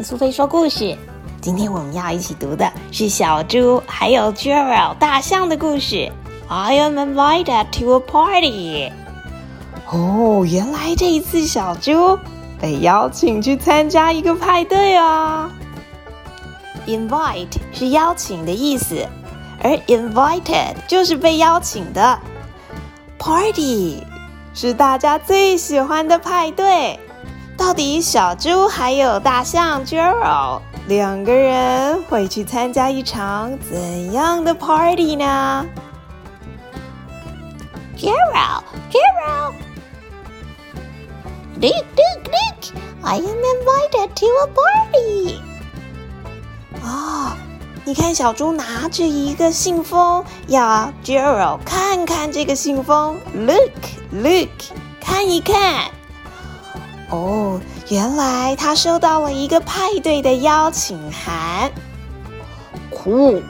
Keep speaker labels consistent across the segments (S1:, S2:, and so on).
S1: 苏菲说故事。今天我们要一起读的是小猪还有 Gerald 大象的故事。I am invited to a party。哦，原来这一次小猪被邀请去参加一个派对啊。Invite 是邀请的意思，而 invited 就是被邀请的。Party 是大家最喜欢的派对。到底小猪还有大象 Gerald 两个人会去参加一场怎样的 party 呢？
S2: Gerald Look I am invited to a party。
S1: 你看小猪拿着一个信封，要 Gerald 看看这个信封。 Look 看一看。原来他收到了一个派对的邀请函。
S3: Cool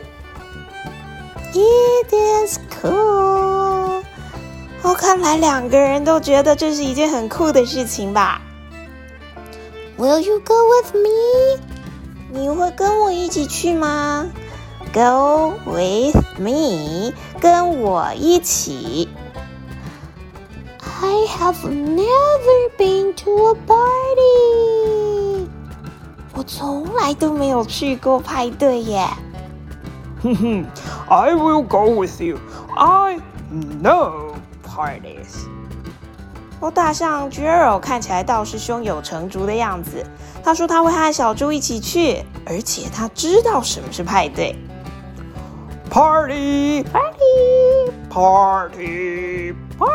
S1: It is cool。看来两个人都觉得这是一件很酷的事情吧。
S2: Will you go with me？
S1: 你会跟我一起去吗？ Go with me， 跟我一起。
S2: I have never been to a party。
S1: 我从来都没有去过派对耶。
S3: I will go with you. I know parties.
S1: 大象 Gerald 看起来倒是胸有成竹的样子。他说他会和小猪一起去，而且他知道什么是派对。
S3: Party! Party!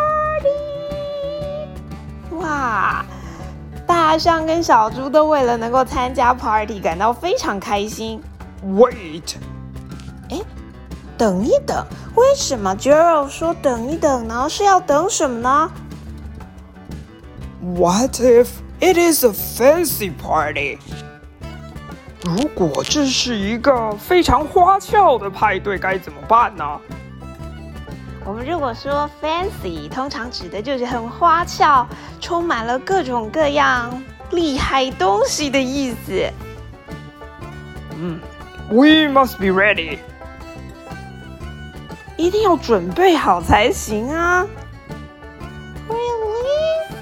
S1: 哇！大象跟小猪都为了能够参加 party 感到非常开心。
S3: Wait!
S1: 等一等，为什么 Gerald 说等一等呢？是要等什么呢？
S3: What if it is a fancy party? 如果这是一个非常花俏的派对，该怎么办呢？
S1: 我们如果说 fancy， 通常指的就是很花俏，充满了各种各样厉害东西的意思。
S3: We must be ready.
S1: 一定要准备好才行啊。
S2: Really？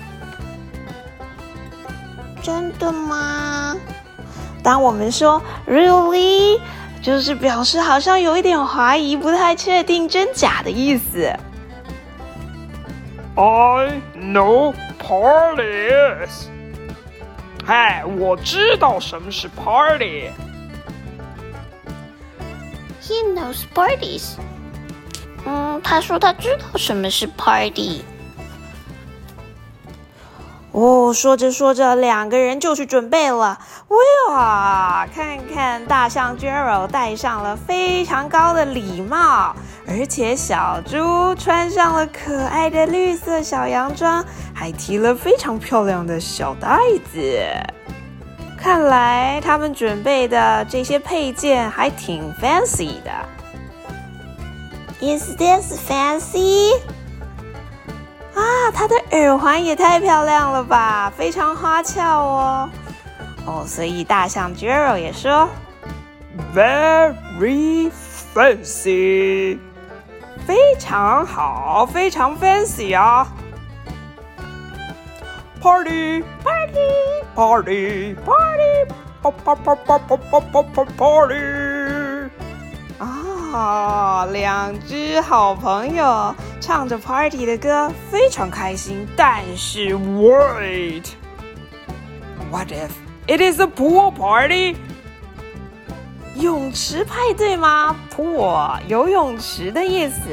S2: 真的吗？
S1: 当我们说 really， 就是表示好像有一点怀疑，不太确定真假的意思。
S3: I know parties. 嗨，我知道什么是 party.
S2: He knows parties。 他说他知道什么是 party。
S1: 说着说着，两个人就去准备了。哇，看看大象 Gerald 戴上了非常高的礼帽，而且小猪穿上了可爱的绿色小洋装，还提了非常漂亮的小袋子。看来他们准备的这些配件还挺 fancy 的。
S2: Is this fancy？
S1: 他的耳环也太漂亮了吧，非常花俏哦。所以大象 Gerald 也说
S3: Very fancy.
S1: 非常好，非常 fancy 啊。
S3: Party! Party! Party!
S1: 两只好朋友唱着 party 的歌，非常开心。但是
S3: Wait! What if it is a pool party?
S1: 泳池派对吗？ pool 游泳池的意思。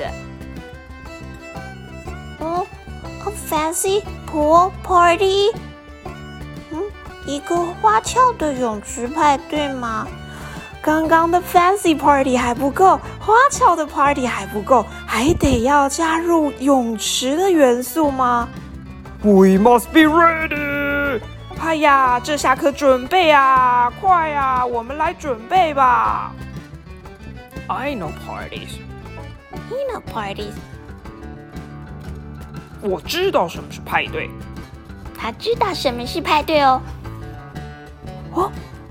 S2: A fancy pool party？ 一个花俏的泳池派对吗？
S1: 刚刚的 fancy party 还不够，花俏的 party 还不够，还得要加入泳池的元素吗？
S3: We must be ready.
S1: 哎呀，这下可准备啊！快啊，我们来准备吧。
S3: I know parties.
S2: He knows parties。
S3: 我知道什么是派对。
S2: 他知道什么是派对哦。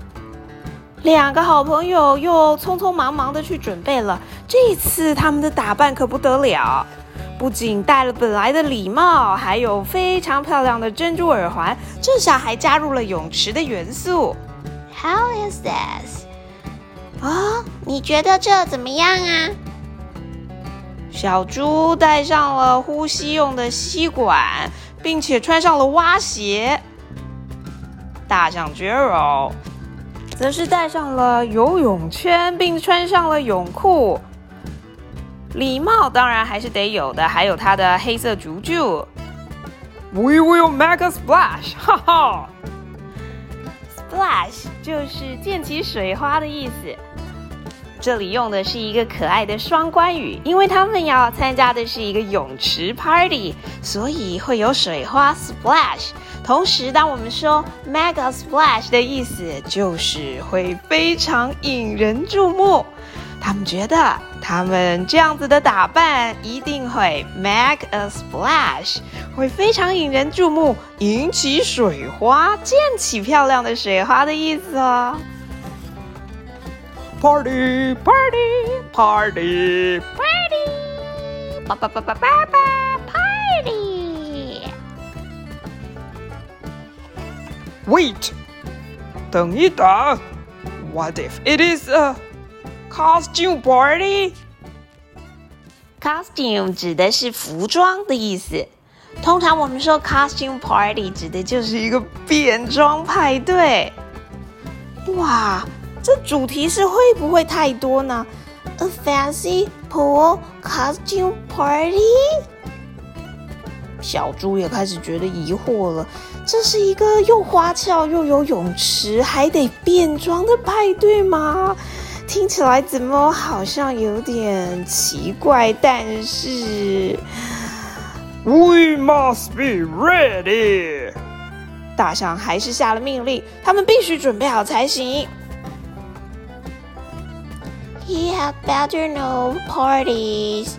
S1: 两个好朋友又匆匆忙忙的去准备了。这次他们的打扮可不得了，不仅戴了本来的礼帽，还有非常漂亮的珍珠耳环，这下还加入了泳池的元素。
S2: How is this？ 你觉得这怎么样啊？
S1: 小猪戴上了呼吸用的吸管，并且穿上了蛙鞋。大象 Gerald 则是戴上了游泳圈，并穿上了泳裤。礼帽当然还是得有的，还有它的黑色竹柱。
S3: We will make a splash， 哈哈。
S1: Splash 就是溅起水花的意思。这里用的是一个可爱的双关语，因为他们要参加的是一个泳池 party， 所以会有水花 splash。同时，当我们说 make a splash 的意思，就是会非常引人注目。他们觉得他们这样子的打扮一定会 make a splash， 会非常引人注目，引起水花，溅起漂亮的水花的意思哦。
S3: Party, party, party,
S2: Party！
S3: Wait， 等一等。What if it is a costume party？
S1: Costume 指的是服装的意思。通常我们说 costume party 指的就是一个变装派对。哇！这主题是会不会太多呢？
S2: A fancy pool costume party？
S1: 小猪也开始觉得疑惑了，这是一个又花俏又有泳池还得变装的派对吗？听起来怎么好像有点奇怪，但是
S3: We must be ready。
S1: 大象还是下了命令，他们必须准备好才行。
S2: He had better know parties。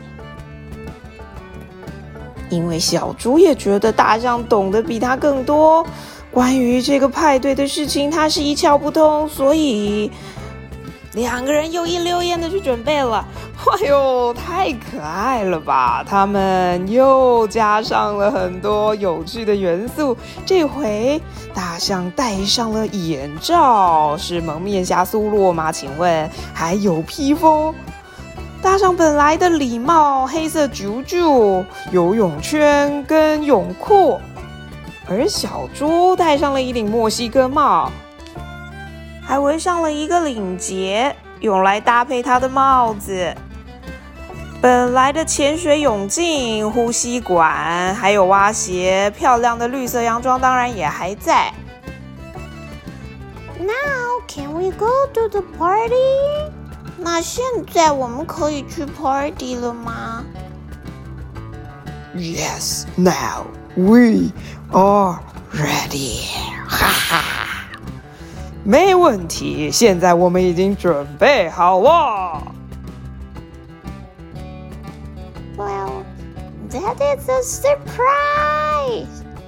S1: 因为小猪也觉得大象懂得比他更多，关于这个派对的事情他是一窍不通，所以两个人又一溜烟的去准备了。哎呦，太可爱了吧！他们又加上了很多有趣的元素。这回大象戴上了眼罩，是蒙面侠苏洛吗？请问还有披风。大象本来的礼帽、黑色竹柱、游泳圈跟泳裤，而小猪戴上了一顶墨西哥帽，还围上了一个领结，用来搭配它的帽子。本来的潜水泳镜、呼吸管，还有蛙鞋，漂亮的绿色洋装当然也还在。
S2: Now can we go to the party？ 那现在我们可以去 party 了吗？
S3: Yes, now we are ready。哈哈，没问题，现在我们已经准备好了。
S2: Well, that is a surprise.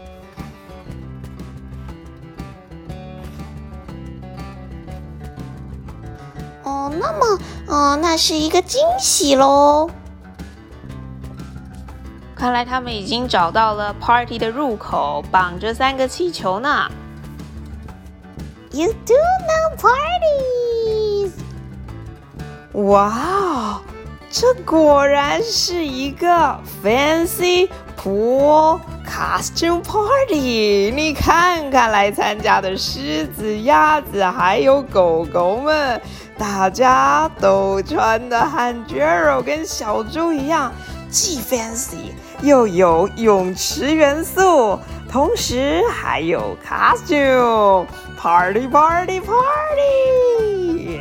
S2: 那是一个惊喜咯。
S1: 看来他们已经找到了 party 的入口，绑着3个气球呢。
S2: You do know parties.
S1: 哇哦！这果然是一个 fancy pool costume party。你看看来参加的狮子、鸭子还有狗狗们，大家都穿的和 Gerald 跟小猪一样，既 fancy 又有泳池元素，同时还有 costume party party party。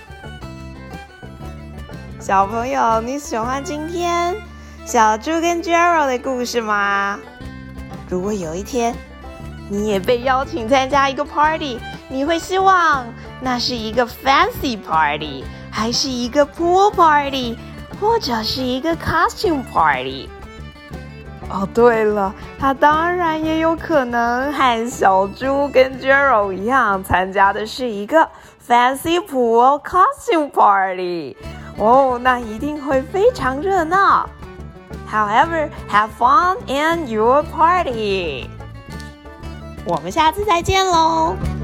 S1: 小朋友，你喜欢今天小猪跟 Gerald 的故事吗？如果有一天你也被邀请参加一个 party， 你会希望那是一个 fancy party， 还是一个 pool party， 或者是一个 costume party？
S3: 哦，对了，他当然也有可能和小猪跟 Gerald 一样，参加的是一个 Fancy Pool Costume Party。哦，那一定会非常热闹。However, have fun in your party.
S1: 我们下次再见喽。